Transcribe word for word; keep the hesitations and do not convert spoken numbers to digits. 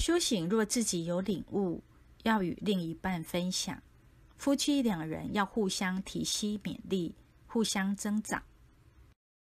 修行若自己有领悟，要与另一半分享。夫妻两人要互相提携勉励，互相增长。